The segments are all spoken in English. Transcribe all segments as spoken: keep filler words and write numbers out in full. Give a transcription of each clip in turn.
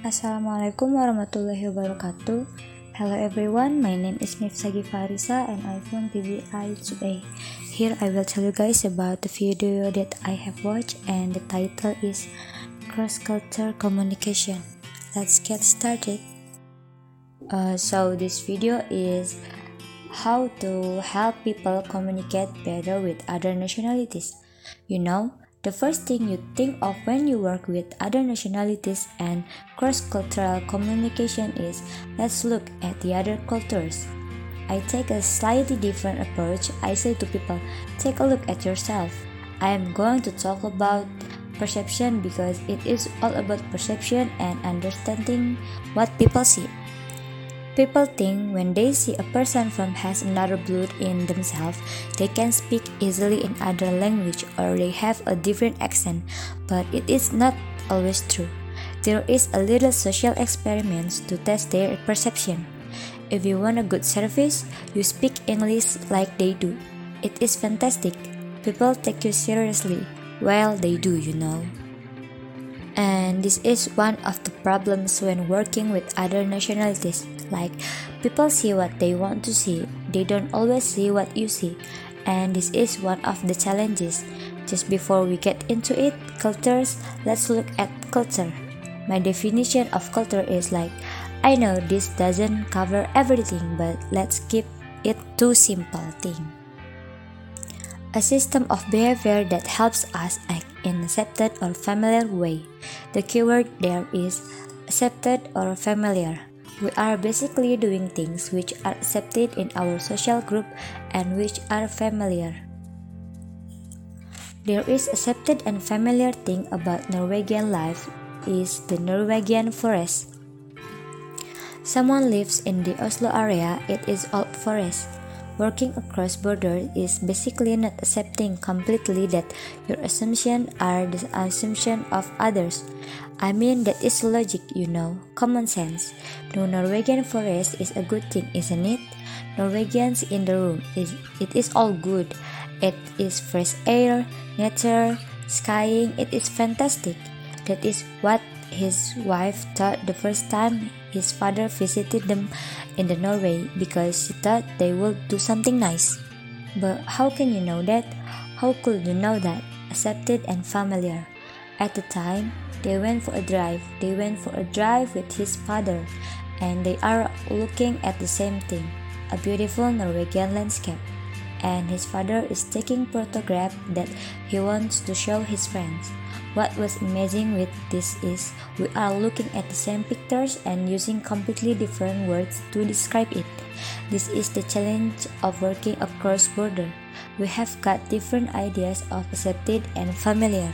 Assalamualaikum warahmatullahi wabarakatuh. Hello everyone, my name is Mifsagi Farisa and I'm from P B I today. Here I will tell you guys about the video that I have watched and the title is Cross-Cultural Communication. Let's get started. Uh, so this video is how to help people communicate better with other nationalities. You know, the first thing you think of when you work with other nationalities and cross-cultural communication is, let's look at the other cultures. I take a slightly different approach. I say to people, take a look at yourself. I am going to talk about perception because it is all about perception and understanding what people see. People think when they see a person from has another blood in themselves, they can speak easily in other language or they have a different accent, but it is not always true. There is a little social experiments to test their perception. If you want a good service, you speak English like they do. It is fantastic. People take you seriously. Well, they do, you know. And this is one of the problems when working with other nationalities. Like, people see what they want to see, they don't always see what you see, and this is one of the challenges. Just before we get into it, cultures, let's look at culture. My definition of culture is like, I know this doesn't cover everything, but let's keep it two simple things. A system of behavior that helps us act in accepted or familiar way. The keyword there is accepted or familiar. We are basically doing things which are accepted in our social group and which are familiar. There is accepted and familiar thing about Norwegian life is the Norwegian forest. Someone lives in the Oslo area, it is all forest. Working across borders is basically not accepting completely that your assumptions are the assumption of others. I mean, that is logic, you know, common sense. No Norwegian forest is a good thing, isn't it? Norwegians in the room, is it is all good. It is fresh air, nature, skiing, it is fantastic. That is what his wife thought the first time his father visited them in the Norway because she thought they would do something nice. But how can you know that? How could you know that? Accepted and familiar. At the time, they went for a drive. They went for a drive with his father, and they are looking at the same thing, a beautiful Norwegian landscape. And his father is taking photographs that he wants to show his friends. What was amazing with this is we are looking at the same pictures and using completely different words to describe it. This is the challenge of working across border. We have got different ideas of accepted and familiar.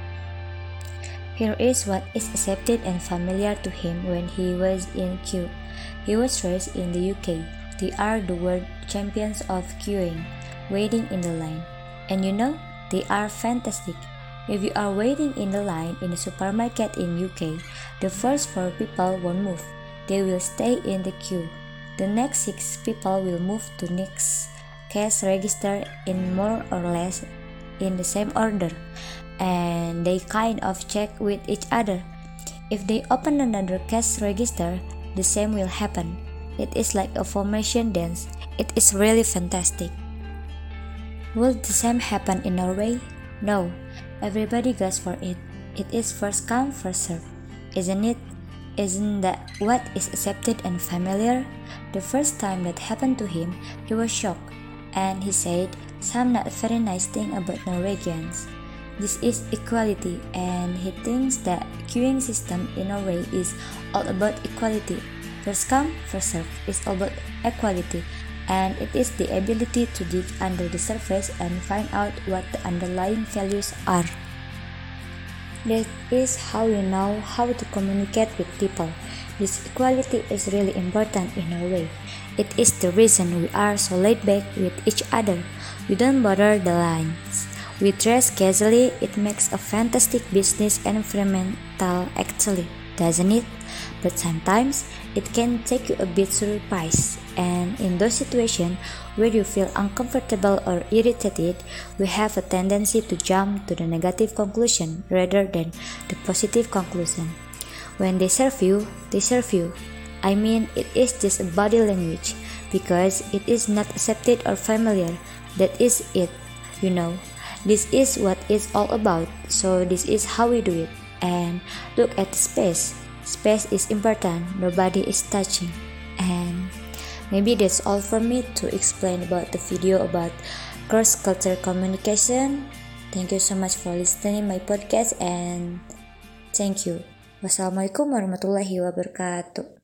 Here is what is accepted and familiar to him when he was in queue. He was raised in the U K. They are the world champions of queuing, waiting in the line. And you know, they are fantastic. If you are waiting in the line in a supermarket in U K, the first four people won't move. They will stay in the queue. The next six people will move to next cash register in more or less in the same order. And they kind of check with each other. If they open another cash register, the same will happen. It is like a formation dance. It is really fantastic. Will the same happen in Norway? No. Everybody goes for it. It is first come, first serve, isn't it? Isn't that what is accepted and familiar? The first time that happened to him, he was shocked, and he said some not very nice thing about Norwegians. This is equality, and he thinks that queuing system in Norway is all about equality. First come, first serve is all about equality, and it is the ability to dig under the surface and find out what the underlying values are. That is how you know how to communicate with people. This equality is really important in Norway. It is the reason we are so laid back with each other. We don't bother the lines. We dress casually. It makes a fantastic business environment actually, doesn't it? But sometimes it can take you a bit surprised, and in those situations where you feel uncomfortable or irritated, we have a tendency to jump to the negative conclusion rather than the positive conclusion. When they serve you, they serve you. I mean, it is just a body language because it is not accepted or familiar. That is it, you know. This is what it's all about, so this is how we do it. And look at the space. Space is important, nobody is touching. And maybe that's all for me to explain about the video about cross-cultural communication. Thank you so much for listening my podcast and thank you. Wassalamualaikum warahmatullahi wabarakatuh.